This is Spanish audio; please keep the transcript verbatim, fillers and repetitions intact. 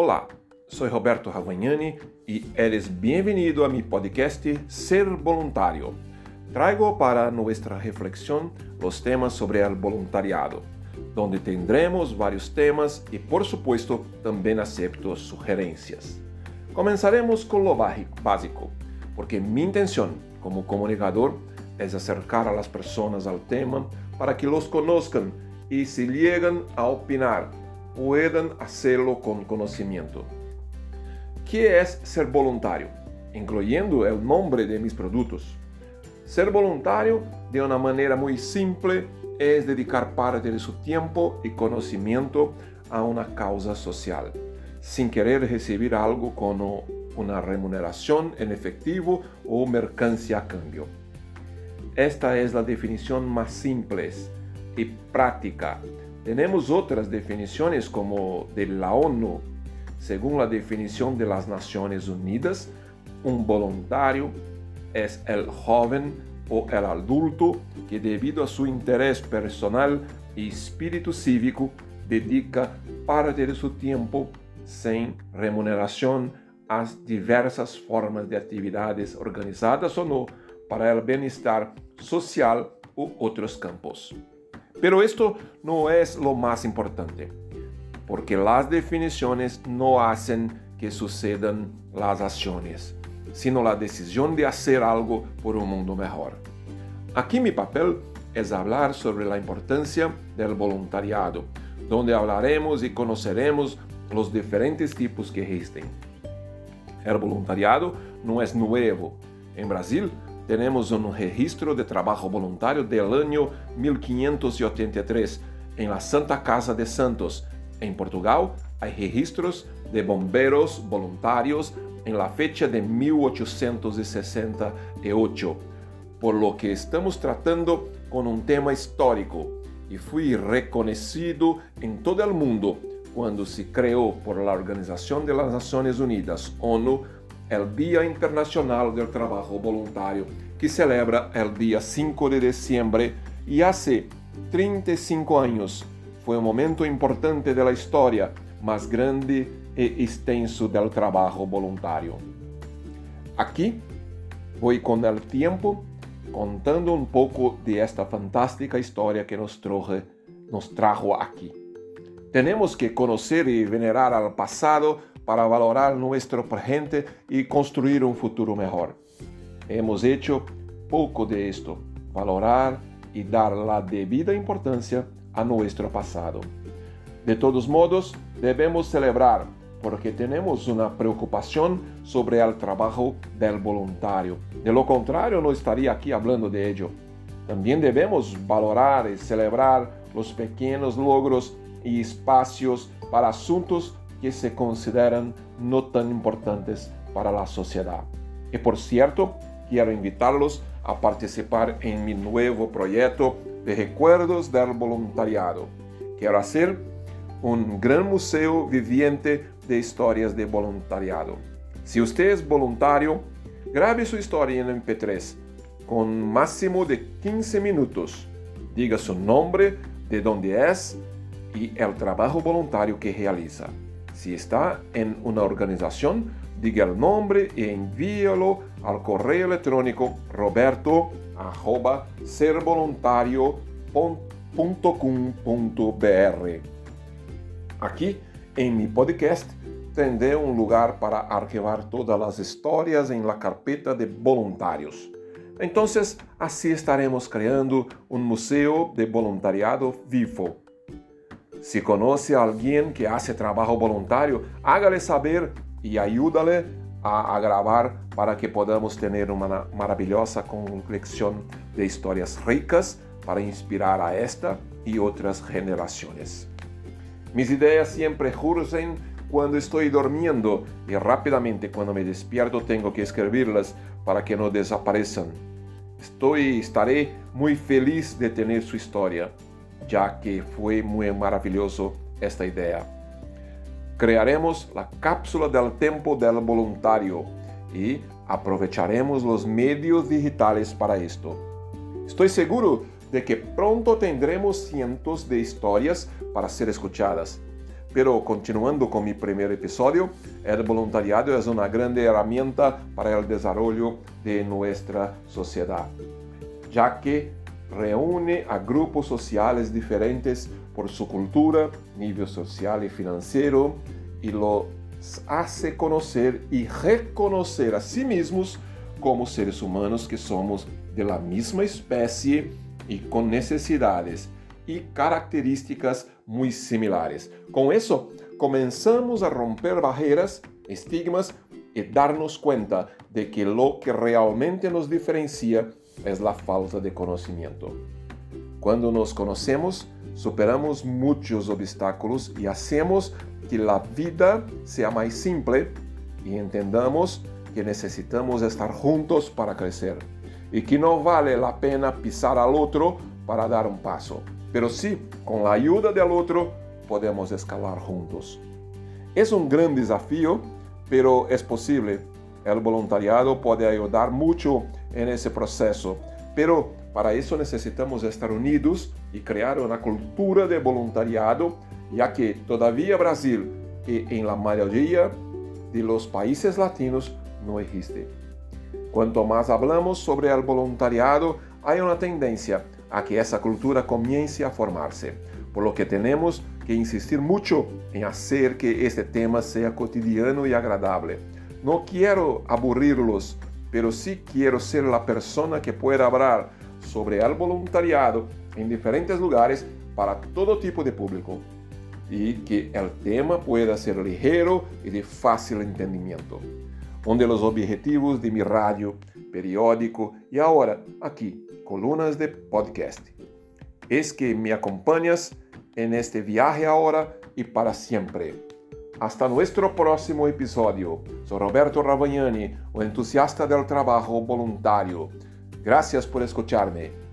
Olá, sou Roberto Ravagnani e eres bem-vindo a mi podcast Ser Voluntario. Traigo para nuestra reflexión los temas sobre el voluntariado, donde tendremos varios temas y, por supuesto, también acepto sugerencias. Comenzaremos con lo básico, porque mi intención como comunicador es acercar a las personas al tema para que los conozcan y si llegan a opinar, puedan hacerlo con conocimiento. ¿Qué es ser voluntario? Incluyendo el nombre de mis productos. Ser voluntario, de una manera muy simple, es dedicar parte de su tiempo y conocimiento a una causa social, sin querer recibir algo como una remuneración en efectivo o mercancía a cambio. Esta es la definición más simple y práctica. Tenemos otras definiciones como de la ONU. Según la definición de las Naciones Unidas, un voluntario es el joven o el adulto que debido a su interés personal y espíritu cívico dedica parte de su tiempo sin remuneración a diversas formas de actividades organizadas o no para el bienestar social u otros campos. Pero esto no es lo más importante, porque las definiciones no hacen que sucedan las acciones, sino la decisión de hacer algo por un mundo mejor. Aquí mi papel es hablar sobre la importancia del voluntariado, donde hablaremos y conoceremos los diferentes tipos que existen. El voluntariado no es nuevo. En Brasil, tenemos un registro de trabajo voluntario del año mil quinientos ochenta y tres en la Santa Casa de Santos. En Portugal hay registros de bomberos voluntarios en la fecha de mil ochocientos sesenta y ocho, por lo que estamos tratando con un tema histórico y fue reconocido en todo el mundo cuando se creó por la Organización de las Naciones Unidas, ONU, el Día Internacional del Trabajo Voluntario, que celebra el día cinco de diciembre, y hace treinta y cinco años fue un momento importante de la historia más grande e extenso del trabajo voluntario. Aquí voy con el tiempo contando un poco de esta fantástica historia que nos trajo, nos trajo aquí. Tenemos que conocer y venerar al pasado para valorar nuestro presente y construir un futuro mejor. Hemos hecho poco de esto, valorar y dar la debida importancia a nuestro pasado. De todos modos, debemos celebrar porque tenemos una preocupación sobre el trabajo del voluntario. De lo contrario, no estaría aquí hablando de ello. También debemos valorar y celebrar los pequeños logros y espacios para asuntos que se consideran no tan importantes para la sociedad. Y por cierto, quiero invitarlos a participar en mi nuevo proyecto de recuerdos del voluntariado. Quiero hacer un gran museo viviente de historias de voluntariado. Si usted es voluntario, grabe su historia en eme pe tres con máximo de quince minutos. Diga su nombre, de dónde es y el trabajo voluntario que realiza. Si está en una organización, diga el nombre y envíelo al correo electrónico roberto arroba servoluntario punto com punto br. Aquí, en mi podcast, tendré un lugar para archivar todas las historias en la carpeta de voluntarios. Entonces, así estaremos creando un museo de voluntariado vivo. Si conoce a alguien que hace trabajo voluntario, hágale saber y ayúdale a, a grabar para que podamos tener una maravillosa colección de historias ricas para inspirar a esta y otras generaciones. Mis ideas siempre surgen cuando estoy durmiendo y rápidamente cuando me despierto tengo que escribirlas para que no desaparezcan. Estoy, estaré muy feliz de tener su historia, ya que fue muy maravilloso esta idea. Crearemos la cápsula del tiempo del voluntario y aprovecharemos los medios digitales para esto. Estoy seguro de que pronto tendremos cientos de historias para ser escuchadas. Pero continuando con mi primer episodio, el voluntariado es una grande herramienta para el desarrollo de nuestra sociedad, ya que reúne a grupos sociales diferentes por su cultura, nivel social y financiero, y los hace conocer y reconocer a sí mismos como seres humanos que somos de la misma especie y con necesidades y características muy similares. Con eso, comenzamos a romper barreras, estigmas y darnos cuenta de que lo que realmente nos diferencia es la falta de conocimiento. Cuando nos conocemos, superamos muchos obstáculos y hacemos que la vida sea más simple y entendamos que necesitamos estar juntos para crecer y que no vale la pena pisar al otro para dar un paso, pero sí, con la ayuda del otro, podemos escalar juntos. Es un gran desafío, pero es posible. El voluntariado puede ayudar mucho en ese proceso, pero para eso necesitamos estar unidos y crear una cultura de voluntariado, ya que todavía Brasil y en la mayoría de los países latinos no existe. Cuanto más hablamos sobre el voluntariado, hay una tendencia a que esa cultura comience a formarse, por lo que tenemos que insistir mucho en hacer que este tema sea cotidiano y agradable. No quiero aburrirlos, pero sí quiero ser la persona que pueda hablar sobre el voluntariado en diferentes lugares para todo tipo de público y que el tema pueda ser ligero y de fácil entendimiento. Uno de los objetivos de mi radio, periódico y ahora aquí, columnas de podcast, es que me acompañes en este viaje ahora y para siempre. Hasta nuestro próximo episodio. Soy Roberto Ravagnani, o entusiasta del trabajo voluntario. Gracias por escucharme.